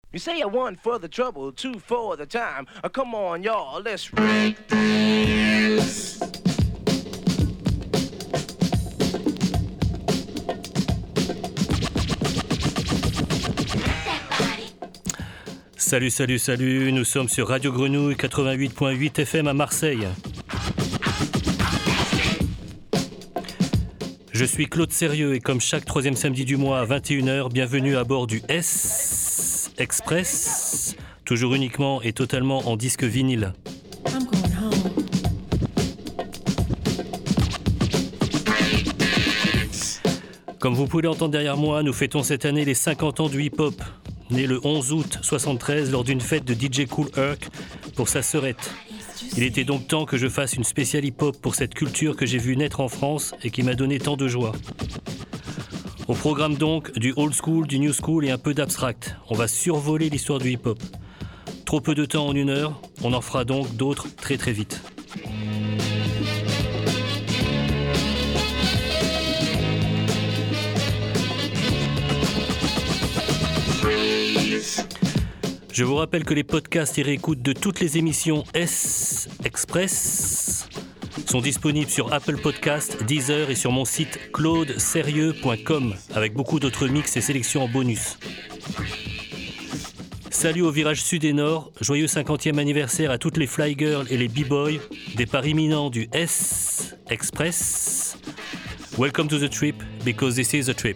You say one for the trouble, two for the time. Come on, y'all, let's break dance. Salut, salut, salut, nous sommes sur Radio Grenouille 88.8 FM à Marseille. Je suis Claude Sérieux et comme chaque troisième samedi du mois à 21h, bienvenue à bord du S Express, toujours uniquement et totalement en disque vinyle. Comme vous pouvez l'entendre derrière moi, nous fêtons cette année les 50 ans du hip-hop. Né le 11 août 73 lors d'une fête de DJ Kool Herc pour sa sœurette. Il était donc temps que je fasse une spéciale hip-hop pour cette culture que j'ai vue naître en France et qui m'a donné tant de joie. Au programme donc du old school, du new school et un peu d'abstract. On va survoler l'histoire du hip-hop. Trop peu de temps en une heure, on en fera donc d'autres très très vite. Je vous rappelle que les podcasts et réécoutes de toutes les émissions S Express sont disponibles sur Apple Podcasts, Deezer et sur mon site claudeserieux.com avec beaucoup d'autres mix et sélections en bonus. Salut au virage sud et nord, joyeux 50e anniversaire à toutes les fly girls et les b-boys, départ imminent du S Express. Welcome to the trip, because this is a trip.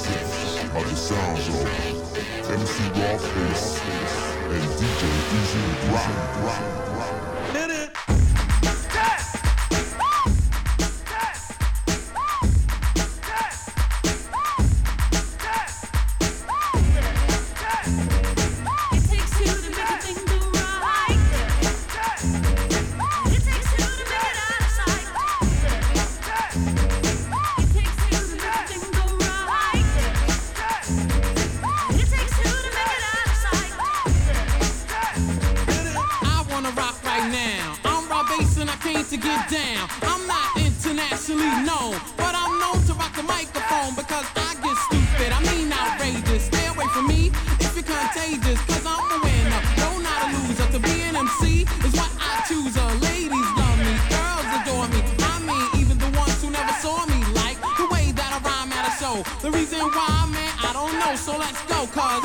of the sounds of MC Rawface and DJ Easy. To get down, I'm not internationally known, but I'm known to rock the microphone because I get stupid, I mean outrageous. Stay away from me if you're contagious, cause I'm a winner, no not a loser. To be an MC is what I choose. Ladies love me, girls adore me, I mean even the ones who never saw me like the way that I rhyme at a show. The reason why, man, I don't know, so let's go, cause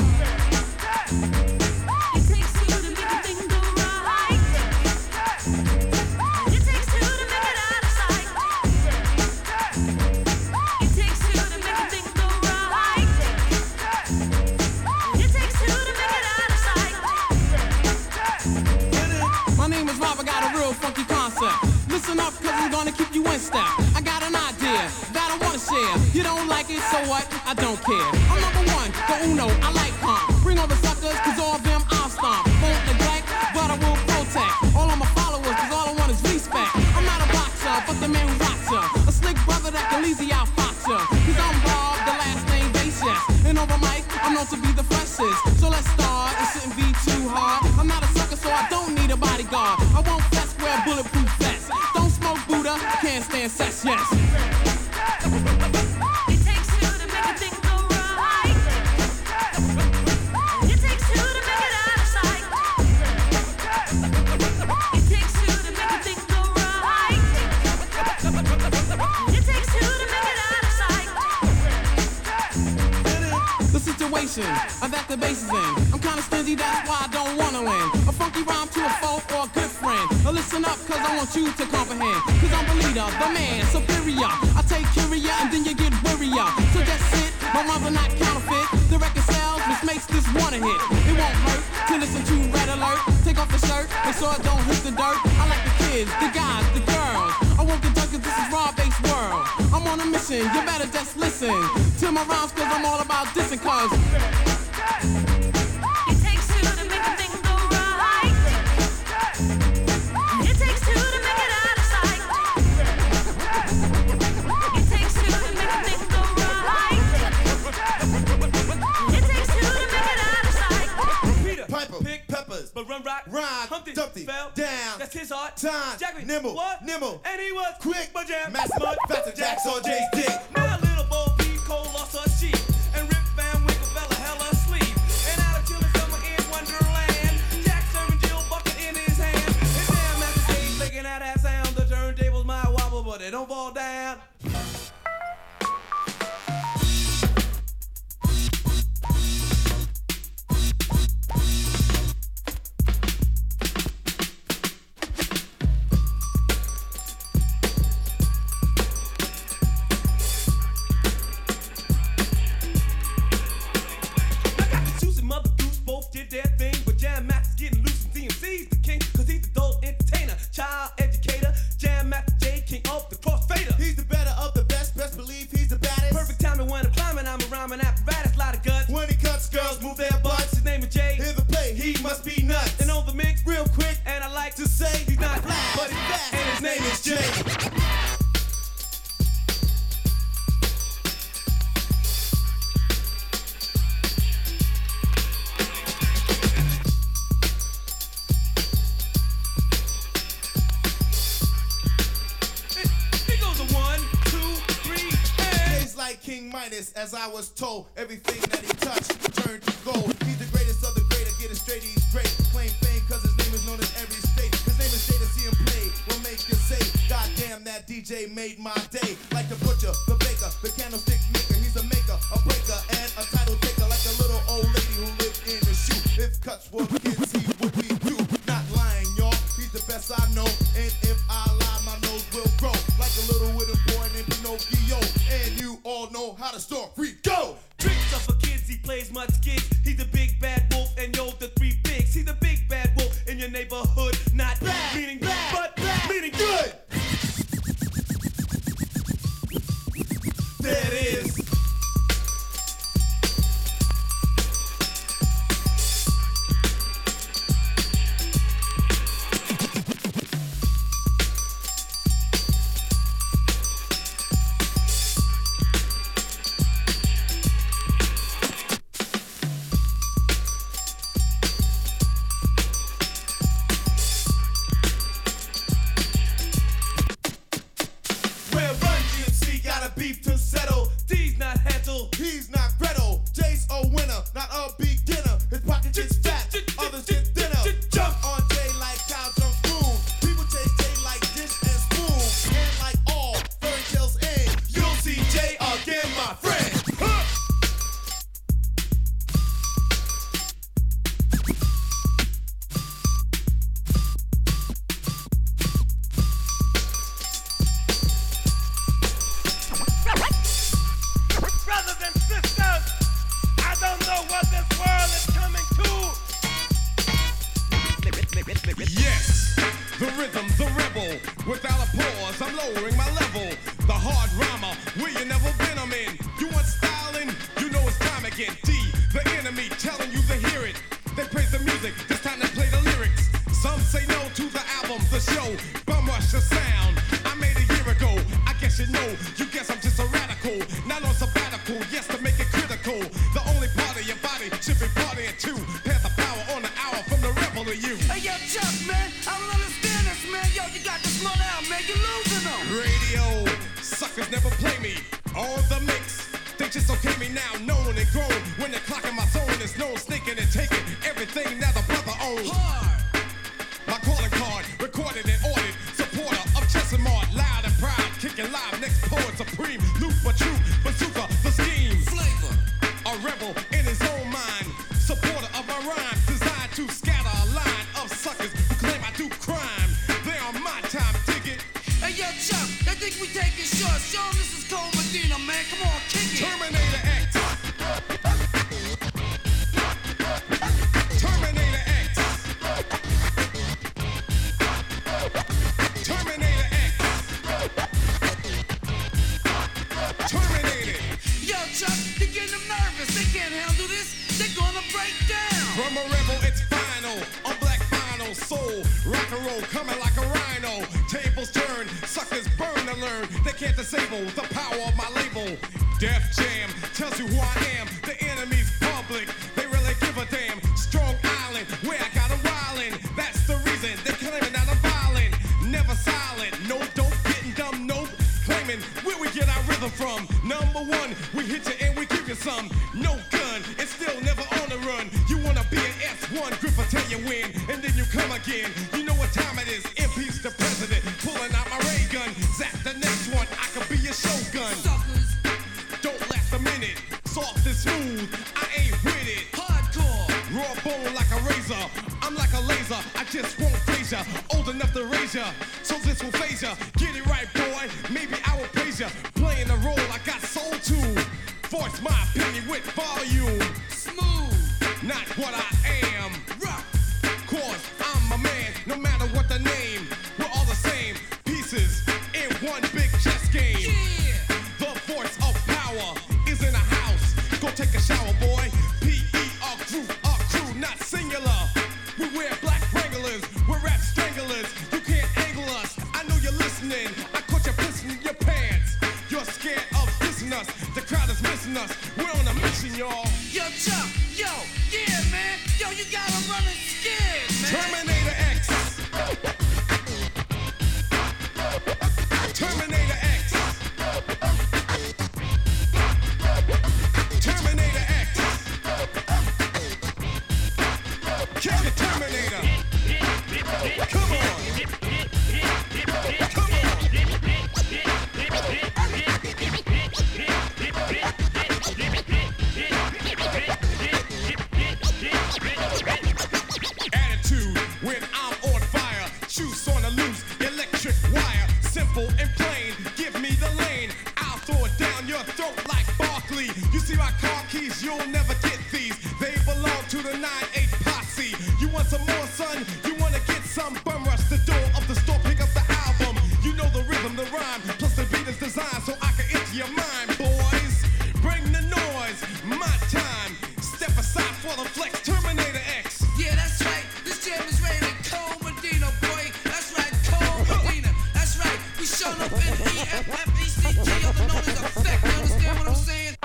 listen up, cause I'm gonna keep you in step. I got an idea that I wanna share. You don't like it, so what? I don't care. I'm number one, the uno, I like calm. Bring all the suckers, cause all of them I'll stomp. Won't neglect, but I will protect all of my followers, cause all I want is respect. I'm not a boxer, but the man who rocks ya. A slick brother that can easy outfox ya. Cause I'm Bob, the last name Basis. And over mic, I'm known to be the freshest. So let's start, it shouldn't be too hard. I'm not a sucker, so I don't need a bodyguard. I won't fess, wear bulletproof vest. Don't smoke Buddha, can't stand sex, yes. It takes two to make a thing go right. It takes two to make it out of sight. It takes two to make a thing go right. It takes two to make it out of sight. The situation that the bass is in, I'm kinda stingy, that's why I don't wanna win. A funky rhyme to a foe or a good friend. Listen up, cause I want you to comprehend. Cause I'm the leader, the man, superior. I take care of ya and then you get worrier. So just sit, my rhymes are not counterfeit. The record sells, which makes this one a hit. It won't hurt to listen to Red Alert. Take off the shirt, make sure it don't hit the dirt. I like the kids, the guys, the girls. I won't get done cause this is raw-based world. I'm on a mission, you better just listen to my rhymes cause I'm all about dissing cause it takes two to make a thing go right. It takes two to make it out of sight. It takes two to make a thing go right. It takes two to make it out of sight. Peter, Piper, Pick, Peppers, but Run Rock, Rhyme, Humpty, Dumpty, fell down. That's his art. Time, Jackie, nimble, what? Nimble, and he was quick, but jam, Mass Mud, Faster Jack, saw Jay's dick. Now little Bo Peep, Cole lost her sheep, and Rip Van Winkle fell a hell asleep. And out of chillin' summer in Wonderland, Jack serving Jill bucket in his hand. And damn, at the stage making out that sound, the turntables might wobble, but they don't fall down. Did their thing, but Jam Master's getting loose and DMC's the king, cause he's the adult entertainer, child educator, Jam Master J, king of the crossfader. He's the better of the best, best believe he's the baddest. Perfect timing when I'm climbing, I'm a rhyming apparatus, lot of guts. When he cuts, girls move their butts. His name is Jay, hear the play, he must be nuts. And on the mix, real quick, and I like to say, he's not black, but he's fast, and his name is Jay. King Midas, as I was told, everything that he touched turned to gold. He's the greatest of the great, I get it straight, he's great. Claim fame cause his name is known in every state. His name is Jay, to see him play will make you say, God damn, that DJ made my day. Like the butcher, the baker, the candlestick maker. He's a maker, a breaker, and a title taker. Like a little old lady who lived in a shoe. If cuts were kids, he would be you. Not lying, y'all, he's the best I know. And if I lie, my nose will grow. Like a little wooden boy named Pinocchio. And you all know how the story go. Tricks up for kids, he plays much gigs. He's the big bad wolf, and yo, the three pigs. He's the big bad wolf, and your neighborhood. Not bad, meaning bad, but bad, meaning good. There it is. He's not Gretel, Jay's a winner, not a beginner. His pocket gets fat, others get thinner. Jump on Jay like cow jump spoon. People chase Jay like dish and spoon. And like all fairy tales end, you'll see Jay again, my friend. Yes, the rhythm, the rebel. Without a pause, I'm lowering my level. The hard rhymer, where you never been, I'm in. You want styling? You know it's time again. D, the enemy, telling you to hear it. They praise the music, this time they play the lyrics. Some say no to the album, the show. Bum rush the sound I made a year ago. I guess you know, you guess I'm just a radical. Not on sabbatical, yes, to make it critical. The only part of your body should be partying too. Pass the power on the hour from the rebel to you. Hey, yo, Chuck, man, I don't understand this, man. Yo, you got to slow down, man. You're losing them. Radio, suckers never play me. On the mix, they just okay me now. Known and grown, when they're clocking my zone, there's no sneaking and taking everything that the brother owns. Hard. My calling card, recorded and ordered. Supporter of Chess and Mart, loud and proud. Kicking live, next poet supreme. Loop but true, bazooka, the scheme. Flavor. A rebel in his own mind. Supporter of my rhymes, designed to scatter a line of suckers who claim I do crime. They on my time, dig it. Hey, yo, Chuck, they think we taking shots. Show 'em this is Cole Medina, man. Come on, kick it. Terminator X. Terminator X. Terminator X. Terminated. Yo, Chuck, you're getting them nervous. They can't handle this. They're gonna break down. From a rebel, it's final. On black vinyl, soul, rock and roll, coming like a rhino. Tables turn, suckers burn to learn. They can't disable the power of my label. Def Jam tells you who I am. The enemy's public, they really give a damn. Strong Island, where I got a wildin'. That's the reason they're claiming that I'm violent. Never silent, no dope, getting dumb, nope. Claiming where we get our rhythm from. Number one, we hit you and we give you some. No gun, it's still never on the run. You wanna be an S1, Gripper tell you win, and then you come again. You know what time it is, impeach the president. Pulling out my ray gun, zap the next one, I could be your shogun. Suckers. Don't last a minute, soft and smooth, I ain't with it. Hardcore. Raw bone like a razor, I'm like a laser, I just won't phase ya. Old enough to raise ya, so this will phase ya. Get it right, boy, maybe I will praise ya. Playing the role I got soul to. Voice my opinion with volume. Smooth. Not what I am. Rock. Cause I'm a man, no matter what the name. We're all the same, pieces in one big chess game. Yeah. The voice of power is in a house. Go take a shower, boy. P.E. our crew, not singular. We wear black Wranglers, we're rap stranglers. You can't angle us, I know you're listening. I caught you pissing in your pants. You're scared of dissing us, the crowd is missing us. We're on a mission, y'all. Yo, Chuck, yo, yeah, man. Yo, you got 'em running scared, man. Terminator X. Terminator X. Terminator X. Kick the Terminator. Come on. Come on. Attitude when I'm on fire. Juice on the loose, electric wire. Simple and plain, give me the lane. I'll throw it down your throat like Barkley. You see my car keys, you'll never get these. They belong to the 9-8 posse. You want some more, son? You wanna get F-N-E-F-F-E-C-T, other known as effect. You understand what I'm saying?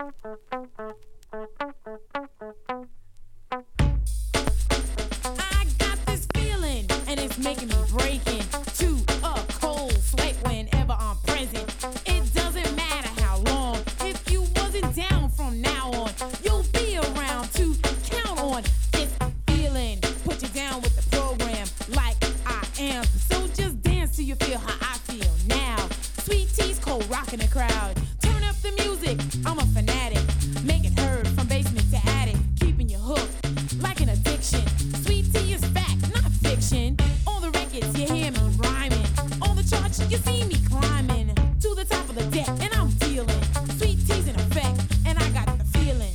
I got this feeling, and it's making me break into a cold sweat whenever I'm present. It doesn't matter how long. If you wasn't down from now on, you'll be around to count on this feeling. Put you down with the program like I am. So just dance till you feel how I feel now. Sweet T's cold rocking the crowd. Turn up the music, I'm a fanatic. Make it heard from basement to attic. Keeping you hooked like an addiction. Sweet T is fact, not fiction. On the records you hear me rhyming. On the charts you see me climbing to the top of the deck, and I'm dealing. Sweet T's in effect, and I got the feeling.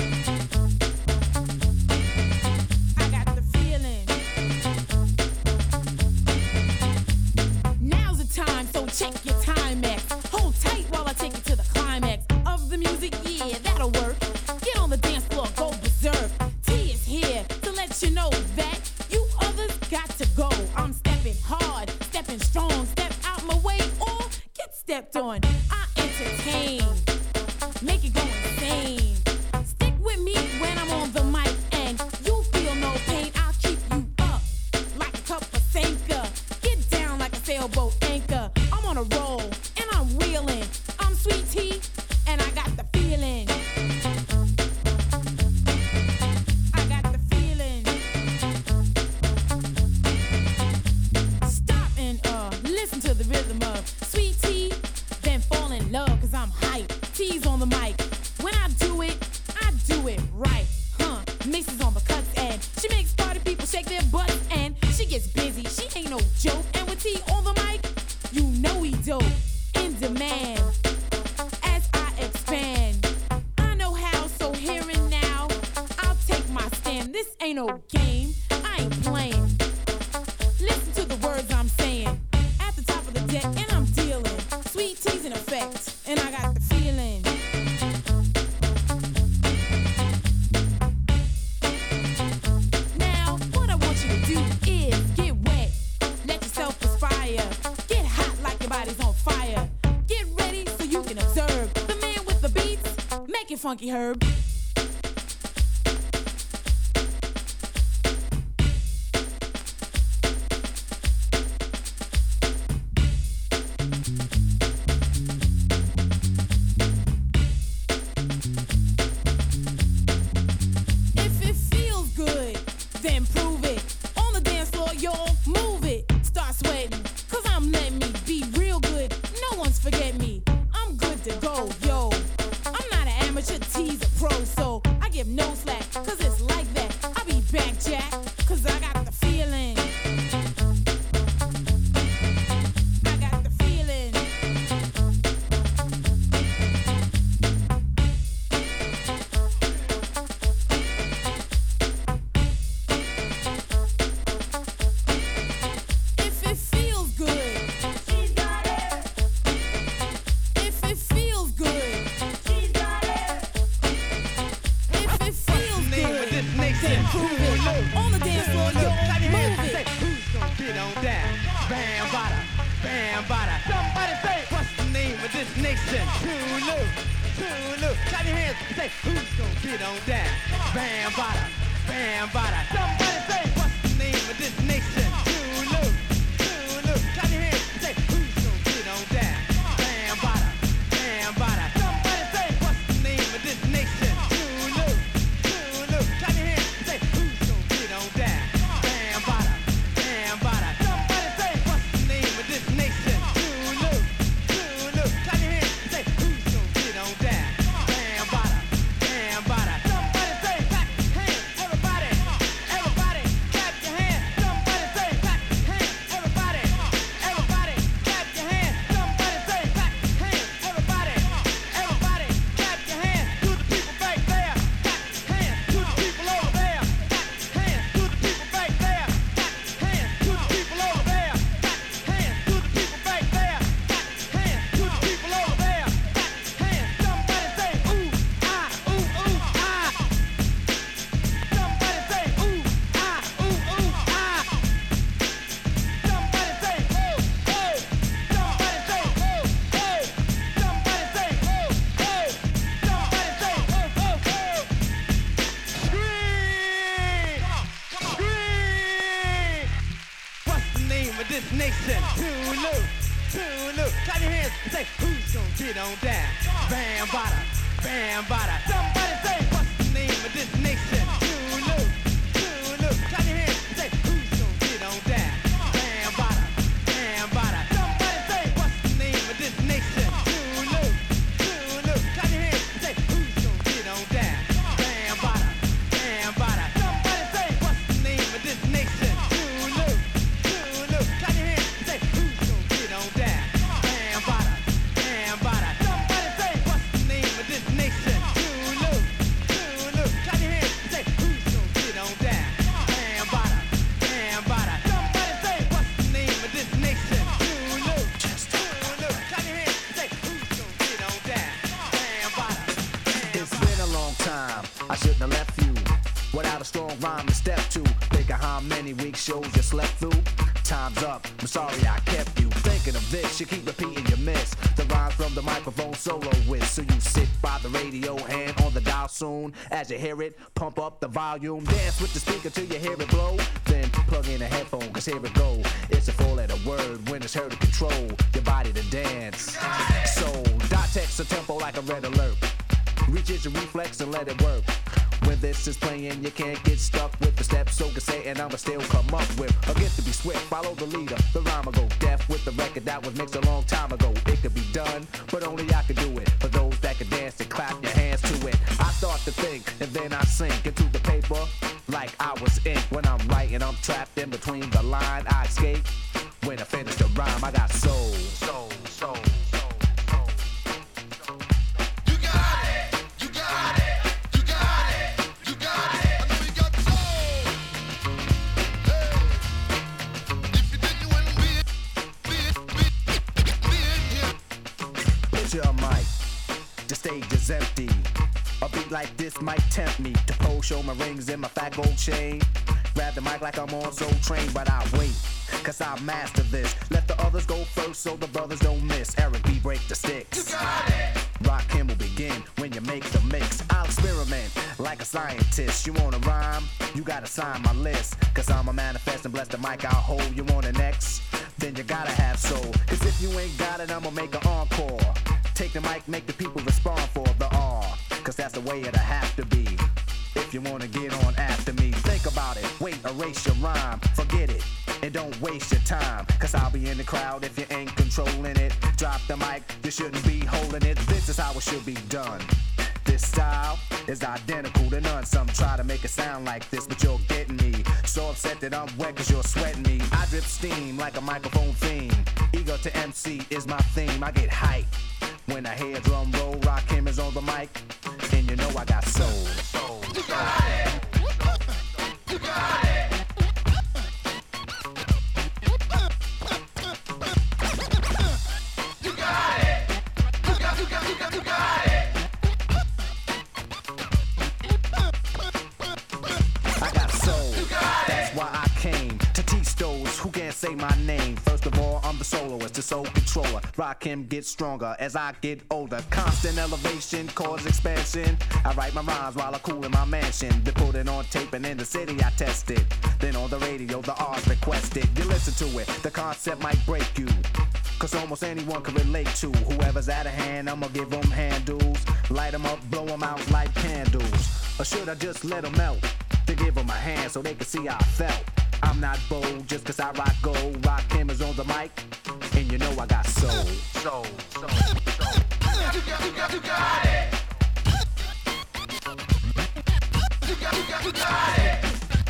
I got the feeling. Now's the time, so check your Timex. Hold tight while I take you to the climax of the music. Yeah, that'll work. Get on the dance floor, go berserk. T is here to let you know that you others got to go. I'm stepping hard, stepping strong. Step out my way or get stepped on. I entertain, make it go insane. Stick with me when I'm on the mic, and you'll feel no pain. I'll keep you up like a cup of Sanka. Get down like a sailboat anchor. I'm on a roll and I'm wheeling. I'm Sweet T and I got the feeling. I got the feeling. Stop and listen to the rhythm of Sweet T, then fall in love, cause I'm hype. T's on the mic. When I do it right. Mixes on the cuts, and she makes party people shake their butts, and she gets busy. She ain't no joke. And with T on the mic, you know he dope. In demand as I expand. I know how, so here and now, I'll take my stand. This ain't no game, I ain't playing. Listen to the words I'm saying. At the top of the deck, and I'm dealing. Sweet T's in effect, and I got the feeling. Now, what I want you to do is get wet. Let yourself perspire. Get hot like your body's on fire. Get ready so you can observe the man with the beats. Make it funky, Herb. If it feels good, then prove it. On the dance floor, y'all move it. Start sweating, cause I'm letting me be real good. No one's forget me. I'm good to go, yo. I'm not an amateur, T's a pro, so I give no slack, cause it's like that. I be back, Jack, cause I got the feeling. I got the feeling. If it feels good, she's got it. If it feels good, she's got it. If it feels good, then prove it. On the dance floor, yo, move it. Who's gonna get on that? Bam, bada, bam, bada. Somebody say, what's the name of this nation? Tulu, Tulu. Clap your hands and say, who's gonna get on that? Bam, bada, bam, bada. Somebody say, what's the name of this nation? Tulu, Tulu. Clap your hands and say, who's gonna get on that? Bam, bada, bam, bada. Somebody say, what's the name of this nation? Tulu, Tulu. Clap your hands and say, who's gonna get on that? Bam, bada, bam, bada. Somebody say, what's the name of this nation? Tulu, Tulu. Clap your hands and say, who's gonna get on that? Bam, bada, bam, bada. Somebody say, clap your hands, everybody, everybody. of this nation? Tulu. Clap your hands and say, who's gonna get on down? Bam, bada. Somebody say, what's the name of this nation? Tulu. Clap your hands and say, who's gonna get on down? Bam, bada. Somebody say, what's the name of this nation? Tulu. Clap your hands and say, who's gonna get on down? Bam, bada. Somebody say, what's the name of this nation? Tulu. Clap your hands and say, who's gonna get on down? Bam, bada. Somebody say, what's the name of this nation? Tulu. Clap your hands and say, who's gonna get on down? Bam, bada. Somebody say, what's the name of this nation? Tulu. Clap your hands and say, who's gonna get on down? Bam, bada. It's been a long time, I shouldn't have left you without a strong rhyme to step to. Think of how many weak shows you slept through. Time's up, I'm sorry I kept you thinking of this. You keep repeating you miss the rhymes from the microphone solo with. So you sit by the radio, hand on the dial soon. As you hear it, pump up the volume. Dance with the speaker till you hear it blow. Then plug in a headphone, cause here it go. It's a four-letter word when it's heard to control your body to dance. So dot text a tempo like a red alert. Reach your reflex and let it work. When this is playing, you can't get stuck with the steps. So can say, and I'ma still come up with a gift to be swift. Follow the leader, the rhyme will go deaf with the record that was mixed a long time ago. It could be done, but only I could do it. For those that can dance and clap your hands to it. I start to think, and then I sink into the paper like I was ink. When I'm writing, I'm trapped in between the line. I escape when I finish the rhyme. I got soul. Your mic, the stage is empty. A beat like this might tempt me to pose, show my rings and my fat gold chain. Grab the mic like I'm on Soul Train, but I wait, cause I master this. Let the others go first so the brothers don't miss. Eric B, break the sticks. You got it. Rakim will begin when you make the mix. I'll experiment like a scientist. You wanna rhyme? You gotta sign my list. Cause I'm a manifest and bless the mic I'll hold. You want an X? Then you gotta have soul. Cause if you ain't got it, I'ma make an encore. Take the mic, make the people respond for the R. Cause that's the way it'll have to be. If you wanna get on after me, think about it. Wait, erase your rhyme, forget it, and don't waste your time. Cause I'll be in the crowd if you ain't controlling it. Drop the mic, you shouldn't be holding it. This is how it should be done. This style is identical to none. Some try to make it sound like this, but you're getting me. So upset that I'm wet cause you're sweating me. I drip steam like a microphone theme. Ego to MC is my theme. I get hype when I hear drum roll. Rakim is on the mic, and you know I got soul. You got it. You got it. You got it. You got it. I got soul. That's why I came to teach those who can't say my name. First of all, I'm the soloist, the soul controller. Rakim gets stronger as I get older. Constant elevation, cause expansion. I write my rhymes while I cool in my mansion. They put it on tape and in the city I test it. Then on the radio, the R's requested. You listen to it, the concept might break you. Cause almost anyone can relate to. Whoever's out of hand, I'ma give them handles. Light them up, blow them out like candles. Or should I just let them melt? To give them a hand so they can see how I felt. I'm not bold just cause I rock gold. Rakim is on the mic, and you know I got soul. Soul. You got it. You got it. You got it. You got it.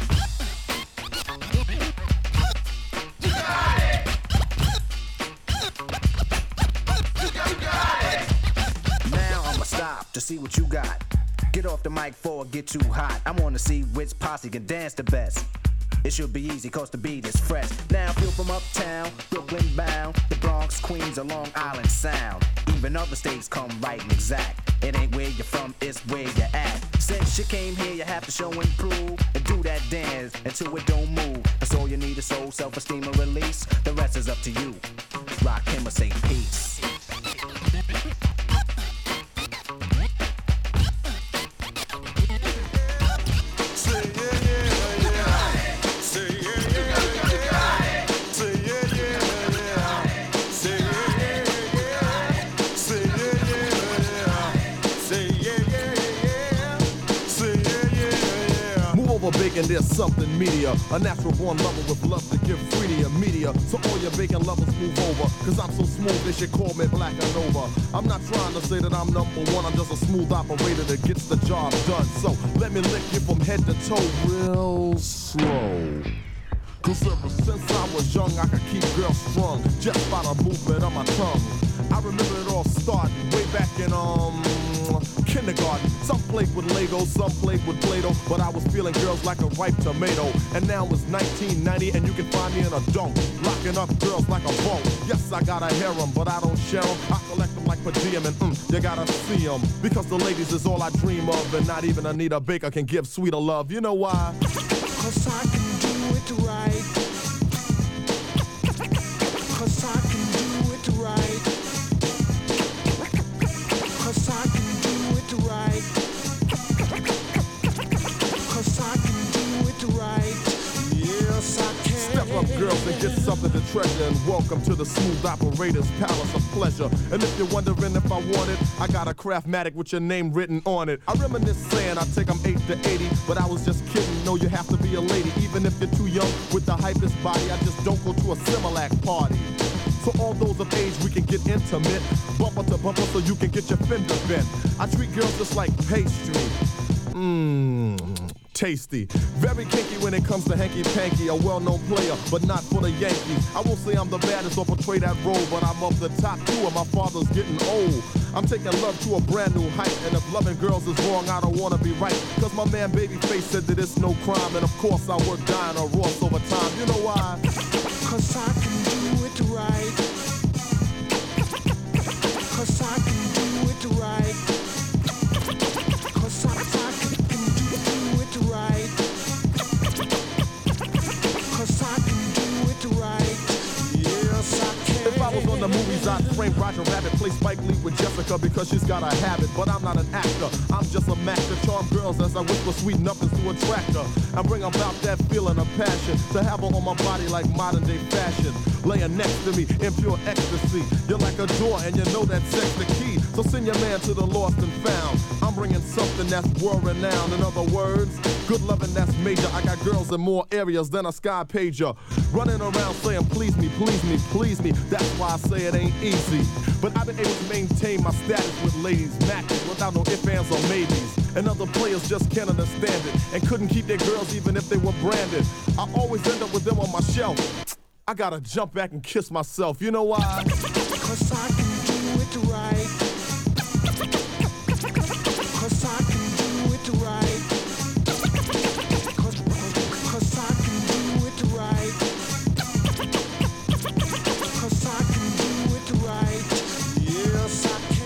You got it. Now I'ma stop to see what you got. Get off the mic before it get too hot. I wanna see which posse can dance the best. It should be easy cause the beat is fresh. Now if you're from uptown, Brooklyn bound, the Bronx, Queens, or Long Island Sound. Even other states come right and exact. It ain't where you're from, it's where you're at. Since you came here, you have to show and prove. And do that dance until it don't move. That's all you need is soul, self-esteem, and release. The rest is up to you. Rakim or say peace. Say yeah, thinking there's something media. A natural born lover with love to give free to your media. So all your vacant lovers move over, cause I'm so smooth they should call me Black and Nova. I'm not trying to say that I'm number one, I'm just a smooth operator that gets the job done. So let me lick you from head to toe real slow. Cause ever since I was young, I could keep girls strung just by the movement of my tongue. I remember it all starting way back in kindergarten. Some played with Legos, some played with Play-Doh, but I was feeling girls like a ripe tomato. And now it's 1990 and you can find me in a dunk, locking up girls like a bunk. Yes, I got a harem, but I don't share them. I collect them like per diem and you gotta see them. Because the ladies is all I dream of, and not even Anita Baker can give sweeter love. You know why? Cause I can do it right. Cause I can do it right. Cause I can do it right. Cause I can do it right. Yes, I can. Step up, girls, and get something to treasure. And welcome to the Smooth Operator's Palace of Pleasure. And if you're wondering if I want it, I got a Craftmatic with your name written on it. I reminisce saying I take them 8 to 80, but I was just kidding. No, you have to be a lady, even if you're too young with the hypest body. I just don't go to a Similac party. So all those of age, we can get intimate, bumper to bumper, so you can get your fender bent. I treat girls just like pastry. Tasty. Very kinky when it comes to hanky-panky. A well-known player, but not for the Yankees. I won't say I'm the baddest or portray that role, but I'm up the top two and my father's getting old. I'm taking love to a brand new height, and if loving girls is wrong, I don't wanna be right. Cause my man Babyface said that it's no crime, and of course I work dying or Ross over time. You know why? Cause I can do it right. Cause I can do it right. Cause I can do it right. Cause I can do it right. Yes, I can. If I was on the movies, I'd frame Roger Rabbit, play Spike Lee with Jessica because she's got a habit. But I'm not an actor, I'm just a match to charm girls as I whisper sweet nothings to attract her. I bring about that feeling of passion to have her on my body like modern day fashion. Laying next to me in pure ecstasy. You're like a door and you know that sex the key. So send your man to the lost and found. I'm bringing something that's world renowned. In other words, good loving that's major. I got girls in more areas than a sky pager. Running around saying please me, please me, please me. That's why I say it ain't easy. But I've been able to maintain my status with ladies matching without no ifs, ands, or maybes. And other players just can't understand it and couldn't keep their girls even if they were branded. I always end up with them on my shelf. I gotta jump back and kiss myself. You know why? Cause I can do it right. Cause I can do it right. Cause I can do it right. Cause I can do it right. Yes, I can.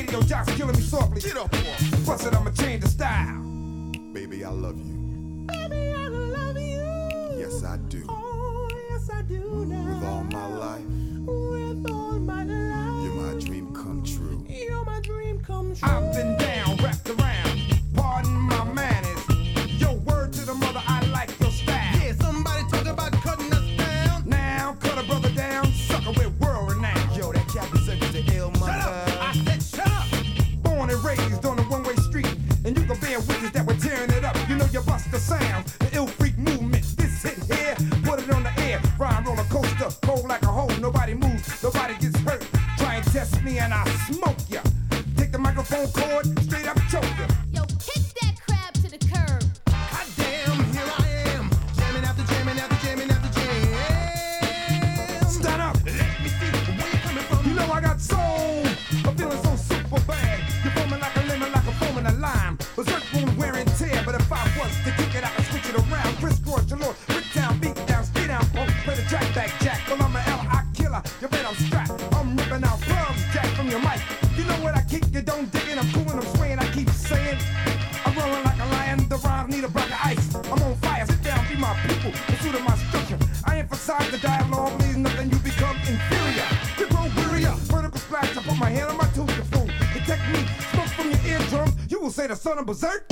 Get up, boy. Bust it, I'ma change the style. Baby, I love you. I've been down, wrapped around. Pardon my manners. Yo, word to the mother, I like your style. Yeah, somebody talk about cutting us down. Now, cut a brother down, sucker with world renown. Yo, that Captain Circus the ill mother. Shut up! I said shut up! Born and raised on a one-way street, and you can bear witness that we're tearing it up. You know you bust the sound, the ill freak movement. This hit here, put it on the air. Rhyme roller coaster, cold like a hole. Nobody moves, nobody gets hurt. Try and test me and I smoke ya. Take the microphone cord, straight up choke ya. Yo, kick that crab to the curb. God damn, here I am. Jamming after jamming after jamming after jam. Stand up! Let me see where you coming from. You know I got soul. I'm feeling so super bad. You're foaming like a lemon, like a foam in a lime. Berserk wound wear and tear, but if I was to kick it, I could switch it around. Crisscross your lord, brick down, beat down, stay down, punk. Play the track back, Jack. Well, I'm an L.I. killer. You bet I'm strapped. I'm ripping out plums, Jack, from your mic. You know what I kick, you don't dig it. I'm cool and I'm swaying, I keep saying. I'm rolling like a lion, the rhymes need a block of ice. I'm on fire, sit down, be my people, pursuit of my structure. I emphasize the dialogue, leaves nothing, you become inferior. You grow wearier, vertical splash, I put my hand on my tooth, you fool. The technique, smoke from your eardrums, you will say the son of berserk.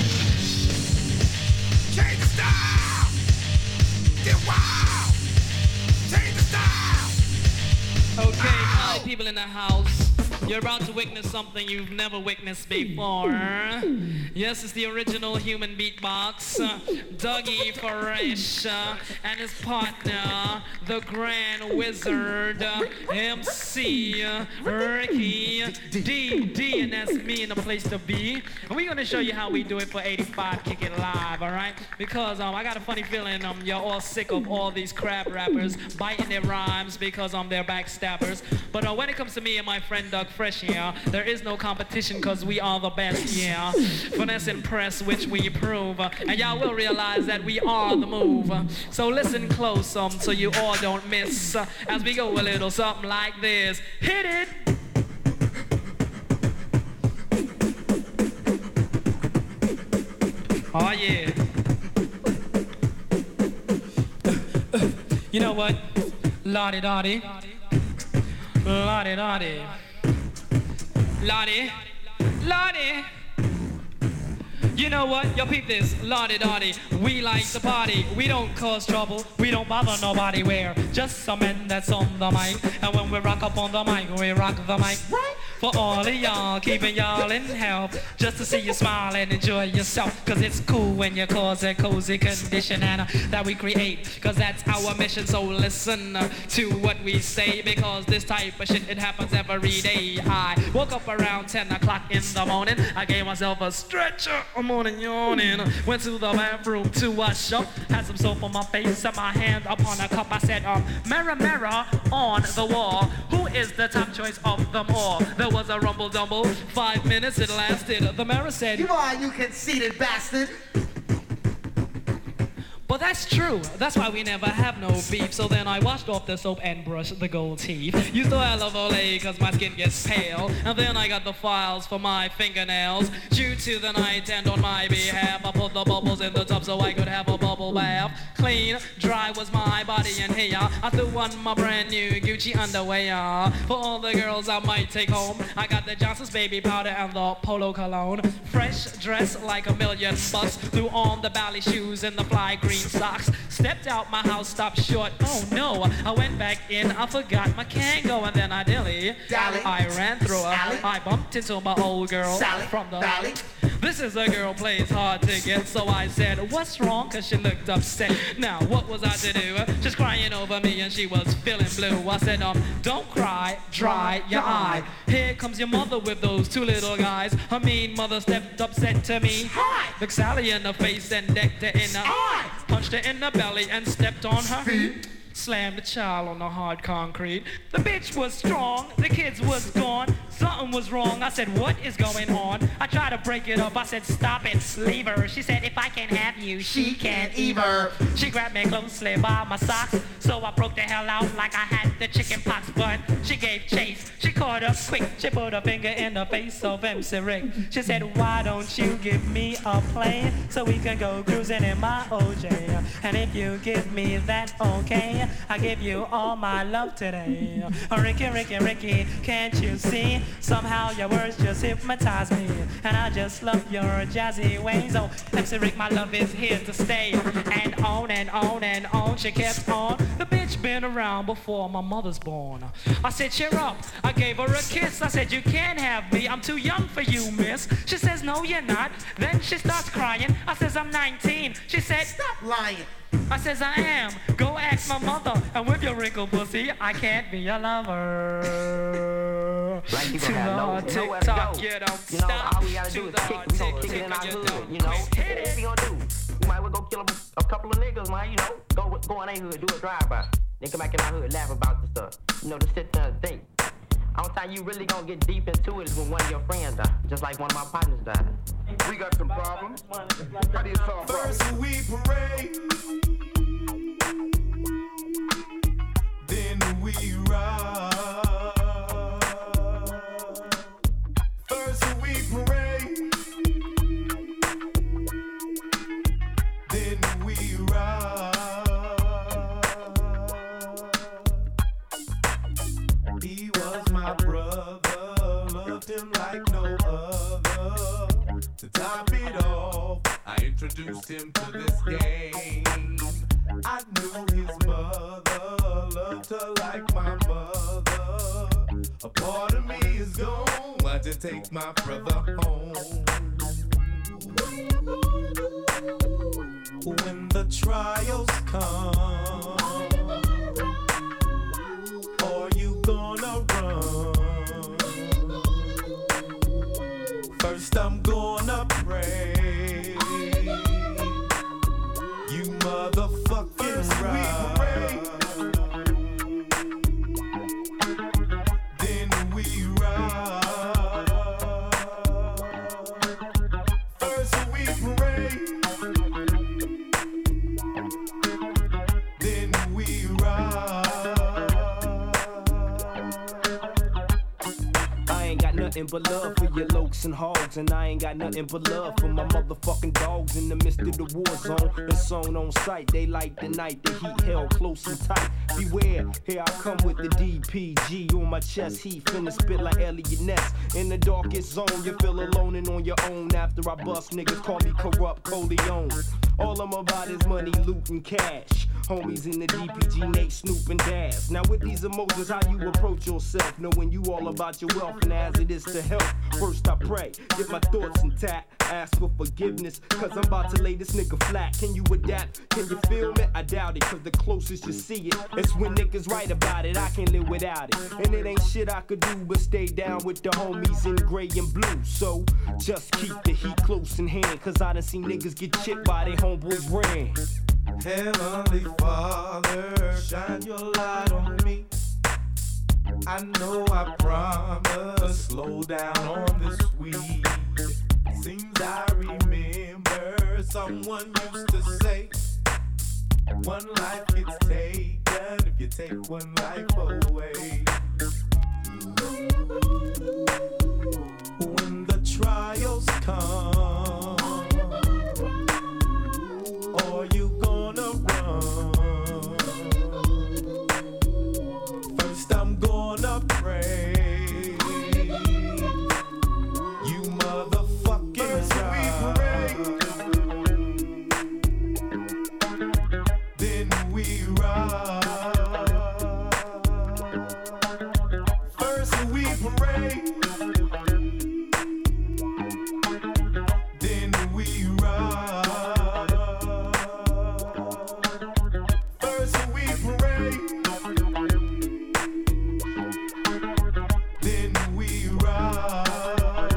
Change the style. Get wild. Change the style. Okay, all people in the house, you're about to witness something you've never witnessed before. Yes, it's the original human beatbox, Dougie Fresh, and his partner, the Grand Wizard, MC Ricky D, and that's me in the place to be. And we're gonna show you how we do it for 85 Kick It Live, all right? Because I got a funny feeling you're all sick of all these crap rappers biting their rhymes because they're backstabbers. But when it comes to me and my friend Doug Fresh, yeah, there is no competition because we are the best, yeah. Finesse and press, which we prove. And y'all will realize that we are the move. So listen close so you all don't miss as we go a little something like this. Hit it! Oh yeah. You know what? Lottie-dottie. Lottie-dottie. Lottie. Lottie. You know what? Yo, peep this. Lottie-dottie. We like to party. We don't cause trouble. We don't bother nobody. We're just some men that's on the mic. And when we rock up on the mic, we rock the mic. Right? For all of y'all, keeping y'all in health. Just to see you smile and enjoy yourself. Cause it's cool when you cause a cozy condition and that we create. Cause that's our mission. So listen to what we say. Because this type of shit, it happens every day. I woke up around 10 o'clock in the morning. I gave myself a stretcher. I'm morning yawning. Went to the bathroom to wash up. Had some soap on my face and my hand upon a cup. I said, mirror, mirror on the wall. Who is the top choice of them all? There was a rumble dumble. 5 minutes it lasted. The mirror said, "You are, you conceited bastard." But that's true. That's why we never have no beef. So then I washed off the soap and brushed the gold teeth. Used to have Olay cause my skin gets pale. And then I got the files for my fingernails. Due to the night and on my behalf, I put the bubbles in the tub so I could have a bubble bath. Clean, dry was my body and hair. I threw on my brand new Gucci underwear. For all the girls I might take home, I got the Johnson's baby powder and the Polo cologne. Fresh dress like a million bucks. Threw on the ballet shoes and the fly green socks. Stepped out my house, stopped short. Oh no, I went back in, I forgot my Kango, and then I dilly. I ran through her. I bumped into my old girl Sally. from the Sally. This is a girl plays hard to get, so I said, what's wrong? Cause she looked upset. Now, what was I to do? She's crying over me and she was feeling blue. I said, don't cry, dry your eye. Here comes your mother with those two little guys. Her mean mother stepped up, said to me, hi. Looked Sally in the face and decked her in the eye. Punched her in the belly and stepped on her feet. Slammed the child on the hard concrete. The bitch was strong, the kids was gone. Something was wrong, I said, what is going on? I tried to break it up, I said, stop it, leave her. She said, if I can't have you, she can't either. She grabbed me closely by my socks, so I broke the hell out like I had the chicken pox. But she gave chase, she caught up quick. She put her finger in the face of MC Rick. She said, why don't you give me a plane so we can go cruising in my OJ? And if you give me that, okay, I give you all my love today. Ricky, Ricky, Ricky, can't you see? Somehow your words just hypnotize me, and I just love your jazzy ways. Oh, MC Rick, my love is here to stay. And on and on and on, she kept on. The bitch been around before my mother's born. I said, cheer up. I gave her a kiss. I said, you can't have me. I'm too young for you, miss. She says, no, you're not. Then she starts crying. I says, I'm 19. She said, stop lying. I says, I am. Go ask my mother. And with your wrinkled pussy, I can't be your lover. Black people have nowhere to go. You know, all we gotta do is kick. We gon' kick it in our hood, you know. What we gonna do? We might well go kill a couple of niggas, man, you know. Go in their hood, do a drive-by. Then come back in our hood, laugh about the stuff. You know, to sit there and think. Only time you really gonna get deep into it is when one of your friends die. Just like one of my partners died. We got some problems. How do you solve problems? First we parade, then we ride. First we parade, then we ride. He was my brother, loved him like no other. To top it off, I introduced him to this game. I knew his mother, loved her like my mother. A part of me is gone, I just take my brother home. When the trials come, are you gonna run? First I'm gonna pray, you motherfucking right. Then we ride. First we pray, then we ride. I ain't got nothing but love for your lokes and hogs, and I ain't got nothing but love for my motherfucking dogs in the midst of the war zone. It's on sight, they light the night, the heat held close and tight. Beware, here I come with the DPG on my chest, he finna spit like Elliot Ness. In the darkest zone, you feel alone and on your own. After I bust, niggas call me corrupt Coleon. All I'm about is money, loot, and cash. Homies in the DPG, Nate, Snoop, and Daz. Now with these emotions, how you approach yourself, knowing you all about your wealth and as it is to help. First I pray, get my thoughts intact, ask for forgiveness, cause I'm about to lay this nigga flat. Can you adapt? Can you feel me? I doubt it, cause the closest you see it, it's when niggas write about it. I can't live without it, and it ain't shit I could do but stay down with the homies in gray and blue. So just keep the heat close in hand, cause I done seen niggas get chipped by they homeboys ran. Heavenly Father, shine your light on me. I know I promised, slow down on this weed. Seems I remember someone used to say, one life gets taken if you take one life away. When the trials come, are you gonna run? First I'm gonna pray, you motherfucking right. Then we ride. First we pray, then we ride. First we pray, then we ride.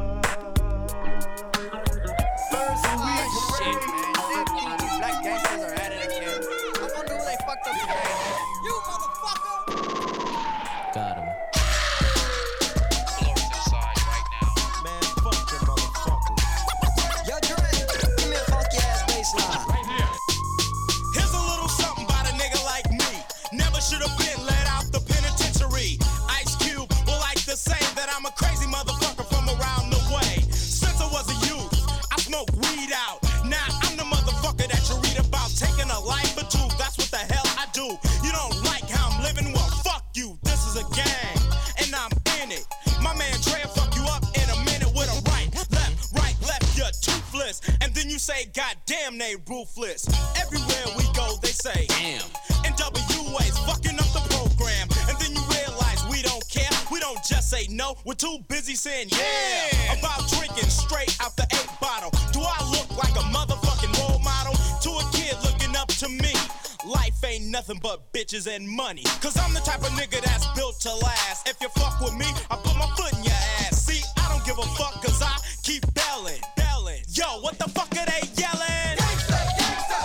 First we pray. These black gangsters are at it again. I wonder who they fucked up today. You motherfucker! Got him. Blowing this side right now. Man, fuck them motherfuckers. Yo, Dre, give me a funky ass bass line. Right here. Here's a little something about a nigga like me. Never should have been let out the penitentiary. Ice Cube will like to say that I'm a crazy motherfucker from around the way. Since I was a youth, I smoked weed out. Now I'm the motherfucker that you read about, taking a life or two. That's what the hell I do. You damn they ruthless. Everywhere we go, they say, damn. NWA's fucking up the program. And then you realize we don't care. We don't just say no. We're too busy saying yeah. About drinking straight out the 8 bottle. Do I look like a motherfucking role model? To a kid looking up to me. Life ain't nothing but bitches and money. Cause I'm the type of nigga that's built to last. If you fuck with me, I put my foot in your ass. See, I don't give a fuck cause I keep belling. Yo, what the fuck are they yelling? Gangsta, gangsta.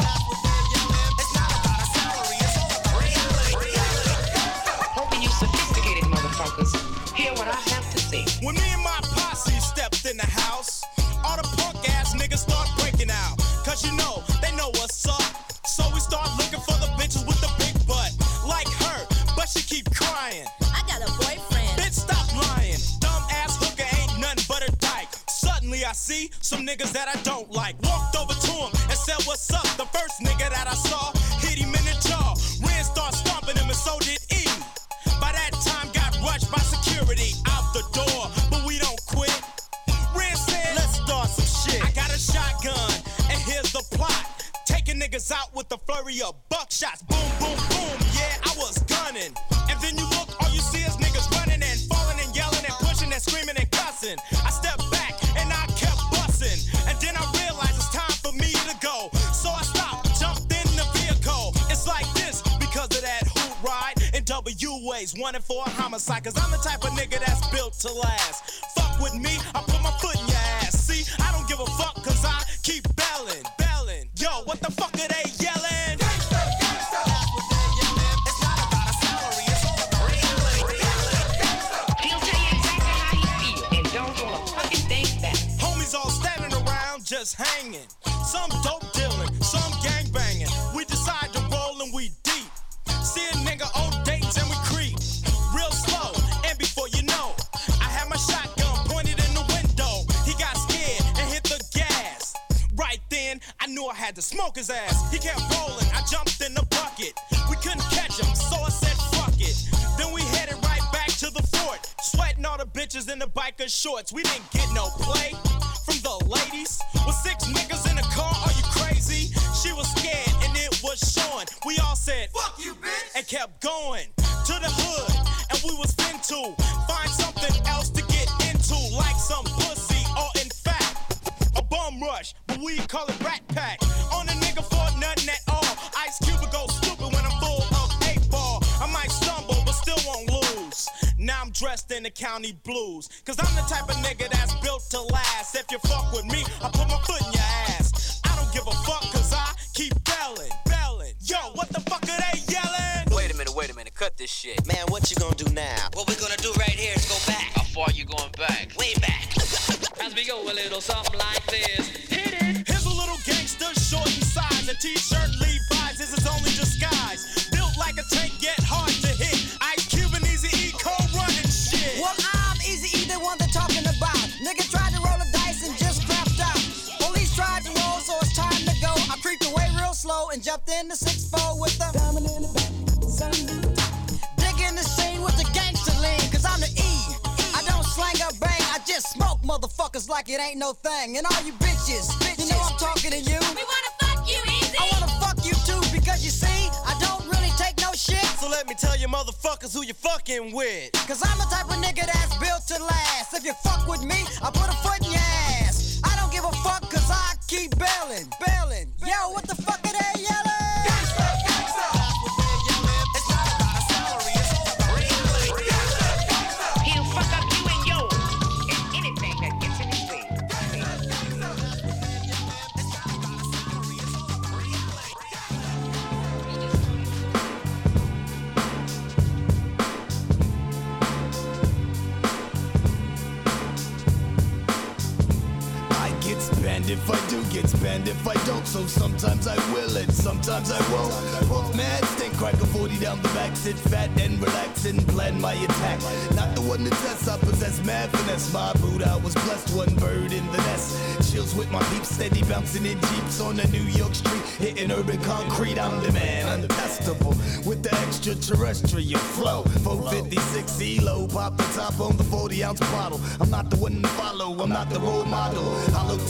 It's not about a salary, it's all about reality. Hoping you sophisticated motherfuckers hear what I have to say. When me and my posse stepped in the house, all the punk ass niggas start breaking out. Cause you know, they know what's up. So we start looking for the bitches with the big butt. Like her, but she keep crying. I got a boyfriend. Bitch, stop lying. Dumb ass hooker ain't nothing but a dyke. Suddenly I see some niggas that I don't like. Walked over to him and said, what's up? The first nigga that I saw hit him in the jaw. Ren started stomping him and so did E. By that time got rushed by security out the door, but we don't quit. Ren said, let's start some shit. I got a shotgun and here's the plot. Taking niggas out with the flurry of buckshots. Boom, boom, boom, yeah, I was gunning. And then you look, all you see is niggas running and falling and yelling and pushing and screaming and cussing. I stepped back and I kept busting. And then I realized it's time for me to go. So I stopped, jumped in the vehicle. It's like this because of that hoot ride. And WA's wanted for a homicide. Cause I'm the type of nigga that's built to last. Fuck with me, I put my foot in your ass. See, I don't give a fuck cause I keep belling. Yo, what the fuck are they yelling? Gangsta, gangsta. That's what they're yelling. It's not about a salary, it's all about reality. He'll tell you exactly how he feel, and don't wanna fucking think that. Homies all standing around just hanging. Some dope dealing, some gang banging. We decide to roll and we deep. See a nigga on dates and we creep. Real slow, and before you know, I had my shotgun pointed in the window. He got scared and hit the gas. Right then, I knew I had to smoke his ass. He kept rolling, I jumped in the bucket. We couldn't catch him, so I said fuck it. Then we headed right back to the fort, sweating all the bitches in the biker shorts. We didn't get no play from the ladies. With 6 niggas in the car, are you crazy? She was scared and it was showing. We all said fuck you, bitch, and kept going to the hood. And we was finna find something else to get into, like some pussy or in fact a bum rush, but we call it Rat Pack. On a nigga for nothing at all. Ice Cube will go stupid when I'm full of 8-ball. I might stumble, but still won't lose. Now I'm dressed in the county blues. Cause I'm the type of nigga that's built to last. If you fuck with me, I put my foot in your ass. I don't give a fuck cause I keep belling. Yo, what the fuck are they yelling? Wait a minute, cut this shit. Man, what you gonna do now? What we're gonna do right here is go back. How far you going back? Way back. As we go a little something like this. Hit it. Here's a little gangster, short in size. A t-shirt Levi's is his only disguise. Built like a tank, yet hard to hit. Ice Cube and Eazy-E co-running shit. Well, I'm Eazy-E, the one they're talking about. Nigga tried to roll the dice and just crapped out. Police tried to roll, so it's time to go. I creeped away real slow and jumped in the 6-4 with the diamond in the back. Digging the scene with the gangster lean, cause I'm the E. I don't slang or bang, I just smoke motherfuckers like it ain't no thing. And all you bitches, you know I'm talking to you. We wanna fuck you, Easy. I wanna fuck you too, because you see, I don't really take no shit. So let me tell you motherfuckers who you fucking with. Cause I'm the type of nigga that's built to last. If you fuck with me, I put a foot in your ass. I don't give a fuck cause I keep bailing. Yo, what the fuck are they yelling? Gangsta, gangsta. That's what they're yelling. It's not about a salary, it's all about reality. He'll fuck up you and yours and anything that gets in his way. If I do, get spanned if I don't. So sometimes I will and sometimes I won't. Puff mad, stink crack a 40 down the back, sit fat and relax and plan my attack. Not the one to test, I possess mad finesse. My boot, I was blessed, one bird in the nest. Chills with my peeps, steady bouncing in jeeps on the New York street, hitting urban concrete. I'm the man, untestable with the extraterrestrial flow. 456 ELO, pop the top on the 40-ounce bottle. I'm not the one to follow, I'm not the role model. Hollow tips in my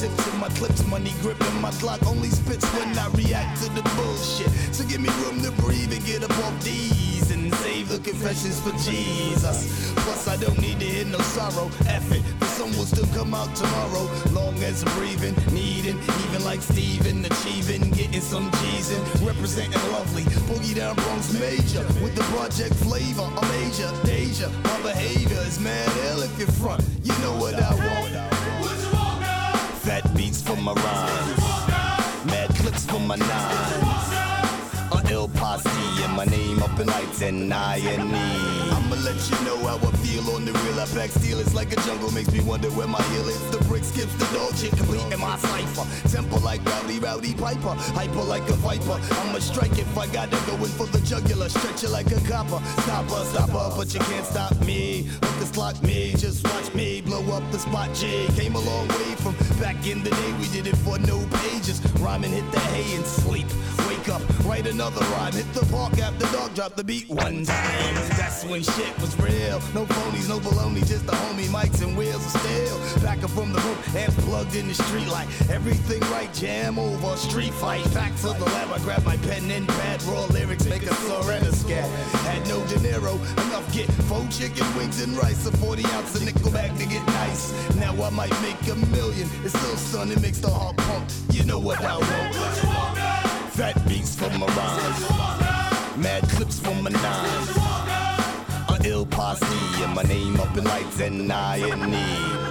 my clips, money gripping my Glock only spits when I react to the bullshit. So give me room to breathe and get up off these and save the confessions for Jesus. Plus I don't need to hear no sorrow. F it, the sun will still come out tomorrow. Long as I'm breathing, needing, even like Steven, achieving, getting some G's in, representing lovely. Boogie down Bronx major with the project flavor. I'm major, Deja. My behavior is mad ill if you're front. You know what I want. Fat beats for my rhymes, mad clips for my nines. Ill posse and my name up in lights and I&E. I'ma let you know how I feel on the real. I pack steel, it's like a jungle, makes me wonder where my heel is. The brick skips the dog shit, complete in my cipher. Temper like Rowdy Piper, hyper like a viper. I'ma strike if I gotta go in for the jugular. Stretch it like a copper, stopper, but you can't stop me. Hookers clock me, just watch me blow up the spot. J came a long way from back in the day. We did it for no pages. Rhyming, hit the hay and sleep. Wake up, write another rhyme. Hit the park after dark, drop the beat one time. That's when shit was real. No phonies, no baloney, just the homie mics and wheels of steel. Back up from the roof, amps plugged in the street light. Everything right, jam over, street fight. Back to the lab, I grab my pen and pad. Raw lyrics, make a slur and a scat. Had no De Niro, enough get 4 chicken wings and rice. A 40 ounce of nickel bag to get nice. Now I might make $1 million. It's still stunning, makes the heart pump. You know what I want. Fat beats for my rhymes, mad clips for my nines. A ill posse and my name up in lights and I&E.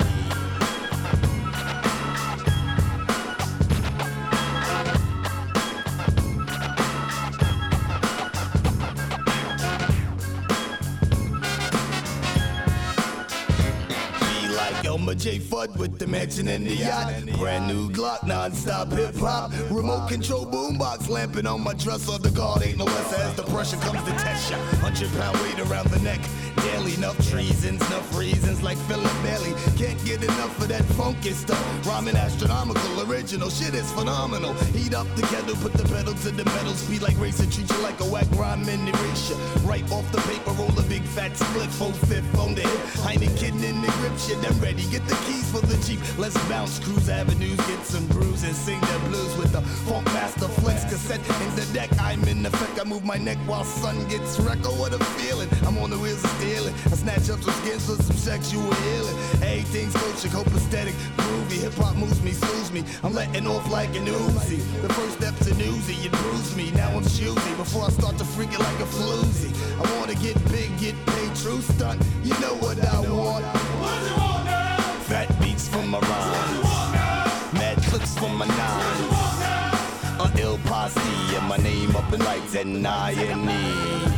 Elmer J. Fudd with the mansion and the yacht. Brand new Glock, non-stop hip-hop. Remote control boombox lamping on my dresser. The guard ain't no less as the pressure comes to test ya. 100-pound weight around the neck. Daily, enough treasons, enough reasons like Philip Bailey. Can't get enough of that funky stuff. Rhyming astronomical, original shit is phenomenal. Heat up the kettle, put the pedal to the metal. Speed like racer, treat you like a whack rhyme in erasure. Right off the paper, roll a big fat split. 4/5 on the hip. Heineken in the grip shit, I'm ready. Get the keys for the Jeep. Let's bounce, cruise avenues, get some brews and sing the blues with the Funk Master Flex cassette in the deck. I'm in effect. I move my neck while sun gets wrecked. Oh, what a feeling! I'm on the wheels of stealing. I snatch up some skins for some sexual healing. Everything's coaching, copacetic, groovy. Hip hop moves me, soothes me. I'm letting off like an Uzi. The first step's an Uzi, it bruised me. Now I'm choosy. Before I start to freak it like a floozy. I wanna get big, get paid, true stunt. You know what I want. Fat beats for my rhymes, mad clips for my nines. A ill posse and my name up in lights and I&E.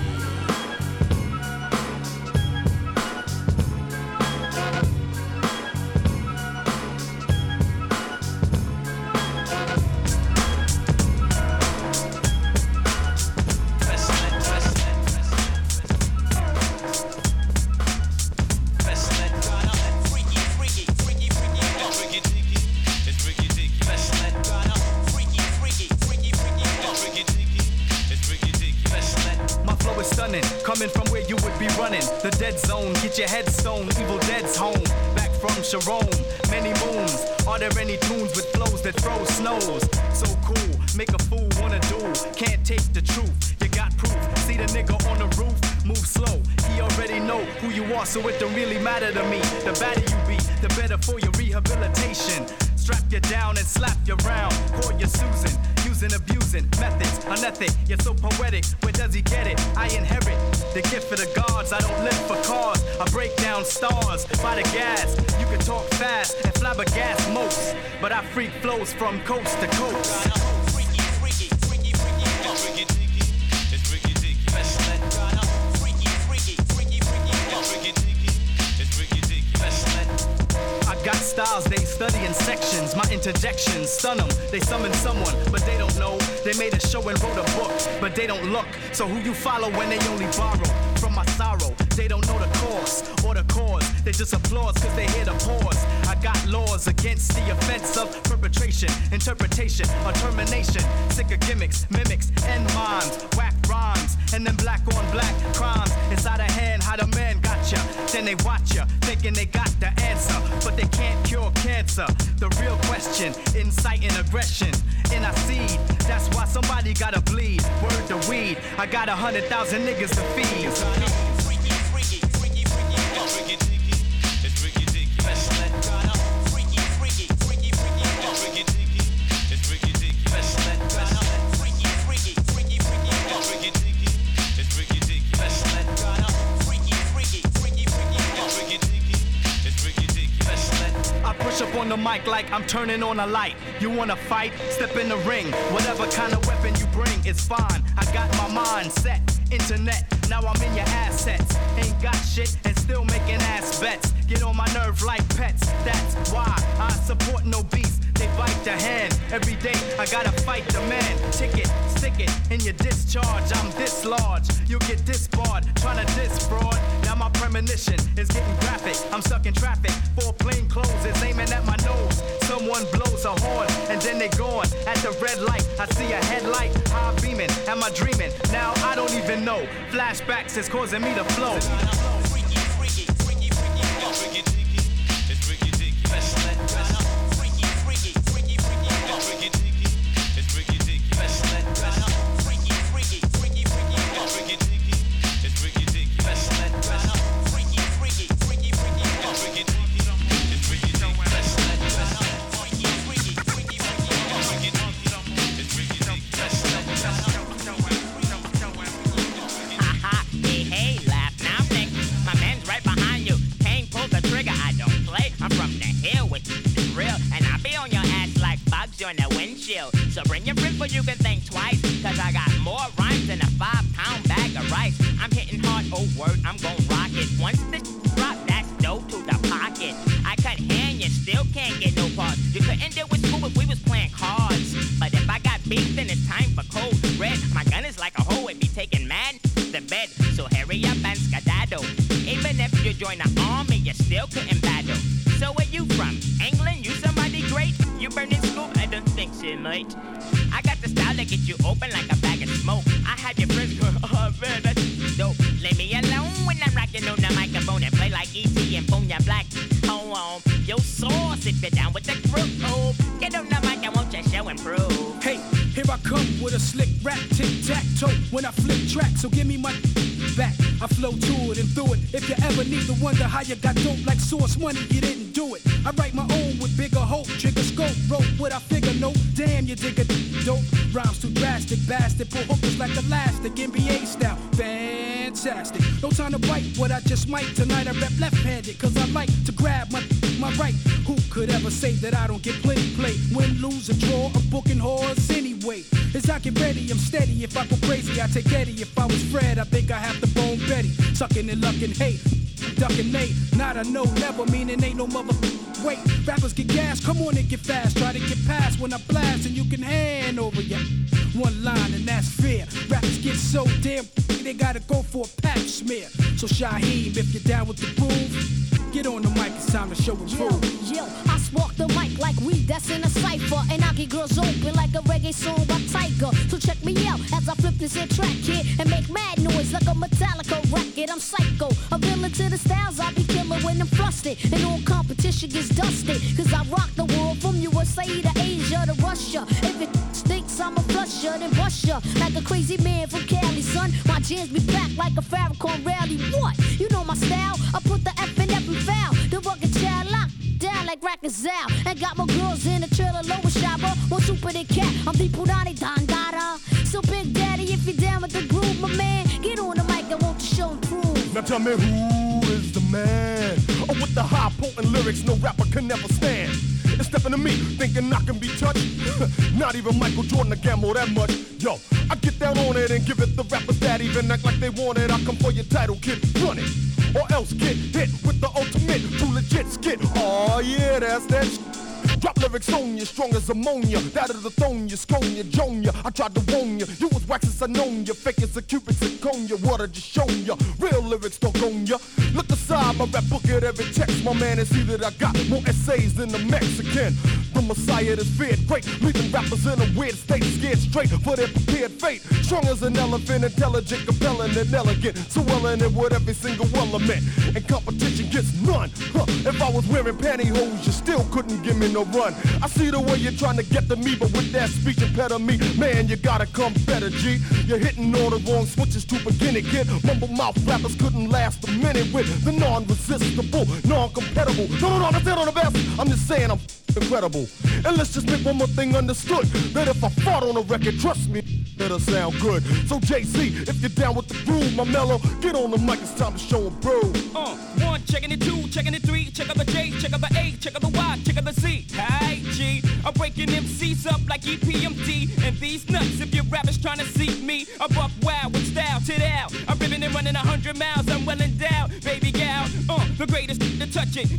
Coming from where you would be running, the dead zone, get your head stoned, Evil Dead's home, back from Sharon, many moons, are there any tunes with flows that throw snows, so cool, make a fool wanna do, can't take the truth, you got proof, see the nigga on the roof, move slow, he already know who you are, so it don't really matter to me, the better you be, the better for your rehabilitation, strap you down and slap you round, call you Susan, using, abusing, methods, unethic, you're so poetic, where does he get it? I inherit the gift of the gods, I don't live for cars, I break down stars by the gas, you can talk fast and flabbergast most, but I freak flows from coast to coast. Got styles, they study in sections. My interjections stun them. They summon someone, but they don't know. They made a show and wrote a book, but they don't look. So who you follow when they only borrow from my sorrow? They don't know the cause or the cause. They just applause cause they hear the pause. I got laws against the offense of perpetration, interpretation, or termination. Sick of gimmicks, mimics, and mimes. Whack rhymes, and then black on black crimes. It's out of hand how the man got ya. then they watch ya, thinking they got the answer, but they can't cure cancer. The real question, inciting aggression in our seed. That's why somebody gotta bleed. Word to weed, I got 100,000 niggas to feed. Up on the mic like I'm turning on a light. You wanna fight? Step in the ring. Whatever kind of weapon you bring, it's fine. I got my mind set. Internet, now I'm in your assets. Ain't got shit and still making ass bets. Get on my nerve like pets. That's why I support no beast. They bite the hand. Every day I gotta fight the man. Ticket, stick it in your discharge. I'm this large. You'll get disbarred. Trying to diss fraud. Now my premonition is getting graphic. I'm stuck in traffic. 4 plain clothes is aiming at my nose. Someone blows a horn and then they gone. At the red light, I see a headlight. High beaming. Am I dreaming? Now I don't even know. Flashbacks is causing me to flow. On the windshield. So bring your friends, but you can think twice. Cause I got more rhymes than a 5-pound bag of rice. I'm hitting hard, oh word, I'm gon' rock it. Once the drop, that's dope to the pocket. I cut hair and you still can't get no parts. You couldn't deal with school if we was playing cards. But if I got beef, then it's time for cold red. My gun is like a hoe, it be taking mad the bed. So hurry up and skedaddle. Even if you join the army, you still couldn't battle. So where you from? England? You somebody great? You burning school? I don't think so, mate. I got the style to get you open like a bag of smoke. I have your friends go, oh man, that's dope. Leave me alone when I'm rocking on the microphone and play like E.T. and Bonya Black. Hold on, yo sauce, sit you down with the group. Oh, get on the mic, I want your show improve. Hey, here I come with a slick rap, tic-tac-toe when I flip track, so give me my back. I flow to it and through it. If you ever need to wonder how you got dope like Source Money, you didn't do it. I write my own with bigger hope, trigger scope, rope what I figure, no, damn you dig a dope. Rhymes too drastic, bastard, pull hookers like elastic, NBA style, fantastic. No time to bite what I just might. Tonight I rap left-handed, cause I like to grab my right. Who could ever say that I don't get plenty play? Win, lose, or draw, a booking horse anyway. As I get ready, I'm steady. If I go crazy, I take Eddie. If I was Fred, I think I have to bone Betty. Sucking and lucking, hate, ducking Nate. Not a no, never meaning ain't no mother. Wait, rappers get gas, come on and get fast. Try to get past when I blast and you can hand over ya. One line and that's fair. Rappers get so damn they gotta go for a pap smear. So Shaheem, if you're down with the groove, get on the mic, it's time to show and prove. Yo, I spark the mic like weed that's in a cypher, and I get girls open like a reggae song by Tiger. So check me out as I flip this here track here and make mad noise like a Metallica record. I'm psycho, a villain to the styles I be killing when I'm flustered, and all competition gets dusted. Cause I rock the world from USA to Asia to Russia. If it stinks, I'ma flush ya, then bust ya like a crazy man from Cali, son. My jams be back like a Farrakhan rally. What? You know my style? I put the F in every vowel. The rugged child locked down like Rackers out. And got my girls in the trailer, lower shopper. More super than cat, I'm the Purani Dandara. So Big Daddy, if you're down with the groove, my man, get on the mic, I want to show and prove. Now tell me who is the man? Oh, with the high potent lyrics no rapper can never stand. And stepping to me, thinking I can be touched. Not even Michael Jordan to gamble that much. Yo, I get down on it and give it the rappers that even act like they want it. I come for your title, kid, run it. Or else get hit with the ultimate, too legit skit. Oh yeah, that's that shit. Drop lyrics on you, strong as ammonia. That of the thone you, scone you, joan you. I tried to warn you, you was wax as I known you. Fake as a cubic zirconia, what I just shown you. Real lyrics don't own you. Look aside, my rap book at every text. My man, and see that I got more essays than the Mexican. The Messiah that's feared great, leaving rappers in a weird state, scared straight for their prepared fate. Strong as an elephant, intelligent, compelling, and elegant. So well in it with every single element. And competition gets none. If I was wearing pantyhose, you still couldn't give me no run. I see the way you're trying to get to me, but with that speech impediment, man, you gotta come better, G. You're hitting all the wrong switches to begin it, kid. Mumble mouth rappers couldn't last a minute with the non-resistible, non-compatible. No, that's it on the best. I'm just saying I'm incredible. And let's just make one more thing understood, that if I fought on a record, trust me, it'll sound good. So JC, if you're down with the groove, my mellow, get on the mic, it's time to show 'em prove. One, checking it, two, checking it, three, check out the J, check out the A, check out the Y, check out the Z. Hey G, I'm breaking MCs up like EPMD, and these nuts, if your rappers trying to see me, I buck wild with style, tit out. I'm ripping and running 100 miles, I'm well endowed, baby gal, the greatest to touch it.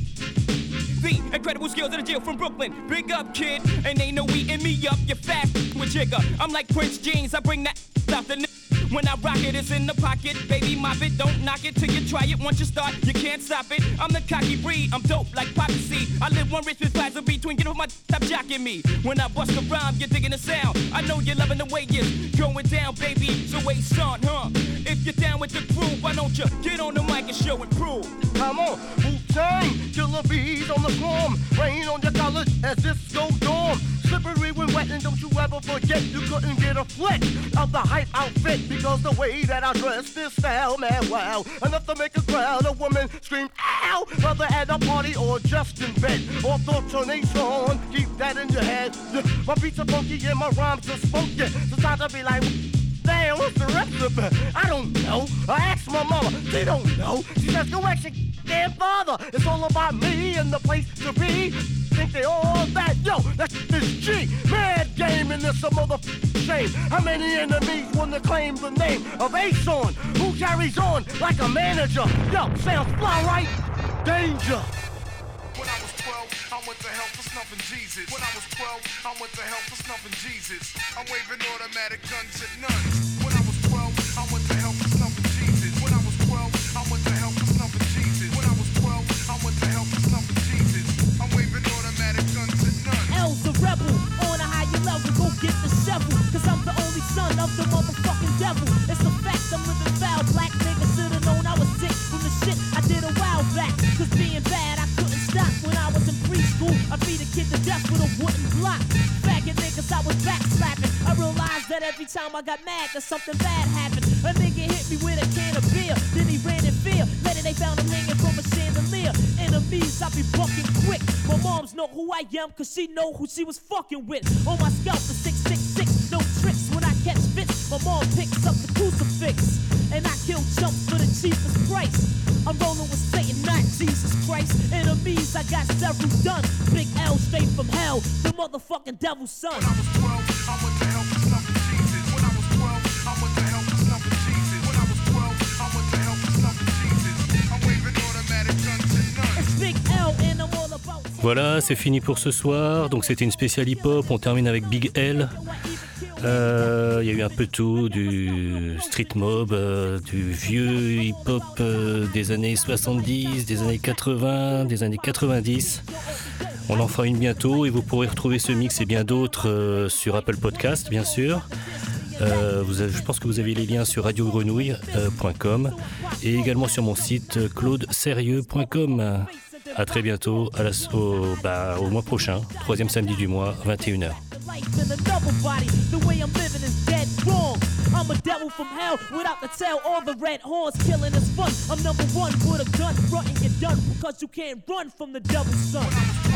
The incredible skills of the Jill from Brooklyn. Big up, kid, and ain't no eating me up. You're fat with Jigger. I'm like Prince Jeans. I bring that stuff. When I rock it, it's in the pocket. Baby, mop it, don't knock it till you try it. Once you start, you can't stop it. I'm the cocky breed. I'm dope like Poppy C. I live one rich with plaza between. Get off my stop jocking me. When I bust a rhyme, you're digging the sound. I know you're loving the way it's going down, baby. So wait, son, If you're down with the groove, why don't you get on the mic and show and prove? Come on, Wu-Tang, killer bees on the swarm. Rain on your college as disco dorm. Slippery when wet, and don't you ever forget you couldn't get a flick of the hype outfit because the way that I dress this style, man, wow. Enough to make a crowd of women scream, ow! Whether at a party or just in bed or thoughts on a song, keep that in your head. My beats are funky and my rhymes are spunky. So time to be like, damn, what's the recipe? I don't know. I asked my mama, she don't know. She says, go ask your damn father. It's all about me and the place to be. Think they all that? Yo, that's this G. Mad game and this a motherfucking shame. How many enemies want to claim the name of Ace-On? Who carries on like a manager? Yo, sounds fly, right? Danger. When I was 12, I went to hell for snuffing Jesus. When I was 12, I went to hell for snuffing Jesus. I'm waving automatic guns at none. When I was 12, I went to hell for snuffing Jesus. When I was 12, I went to hell for snuffing Jesus. When I was 12, I went to hell for snuffing Jesus. I'm waving automatic guns at none. L's a rebel, on a higher level, go get the shovel. Cause I'm the only son of the motherfucking devil. It's a fact, I'm living foul. Black nigga should've known I was sick from the shit I did a while back. Cause being bad, I couldn't stop when I was in preschool. I beat a kid to death with a wooden block. Faggot niggas, I was backslapping. I realized that every time I got mad, that something bad happened. A nigga hit me with a can of beer, then he ran in fear. Later they found him hanging from a chandelier. Enemies, I be bucking quick. My moms know who I am, cause she know who she was fucking with. On my scalp, the 666, no tricks when I catch fits. My mom picks up the crucifix, and I kill chumps for the cheapest price. I'm rolling with Satan, not Jesus Christ. Enemies, I got several done. Big L straight from hell, the motherfucking devil's son. When I was 12, I went to hell for snuffing Jesus. When I was 12, I went to hell for snuffing Jesus. When I was 12, I went to hell for snuffing Jesus. I'm waving automatic guns at none. It's Big L and I'm all about. Voilà, c'est fini pour ce soir. Donc c'était une spéciale hip-hop. On termine avec Big L. Il y a eu un peu tout, du street mob, du vieux hip-hop des années 70, des années 80, des années 90. On en fera une bientôt et vous pourrez retrouver ce mix et bien d'autres sur Apple Podcast, bien sûr. Je pense que vous avez les liens sur radiogrenouille.com et également sur mon site claudesérieux.com. À très bientôt, au mois prochain, 3e samedi du mois, 21h. In another body, the way I'm living is dead wrong. I'm a devil from hell without the tail or the red horns. Killing is fun. I'm number one with a gun, fronting you're done because you can't run from the devil's son.